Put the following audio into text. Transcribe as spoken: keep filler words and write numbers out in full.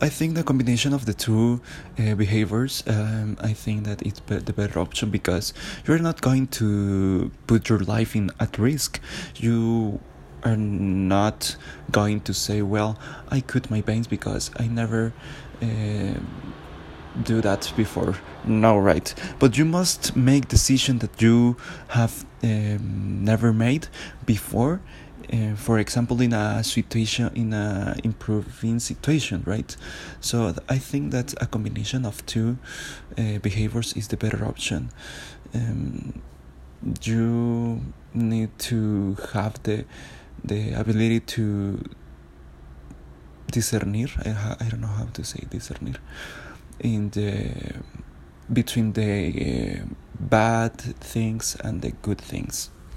I think the combination of the two uh, behaviors, um, I think that it's be- the better option, because you're not going to put your life in at risk. You are not going to say, well, I cut my veins because I never uh, do that before. No, right? But you must make decision that you have um, never made before. Uh, for example, in a situation, in a improving situation, right? So th- I think that a combination of two uh, behaviors is the better option. Um, you need to have the the ability to discernir. I, ha- I don't know how to say discernir in the between the uh, bad things and the good things.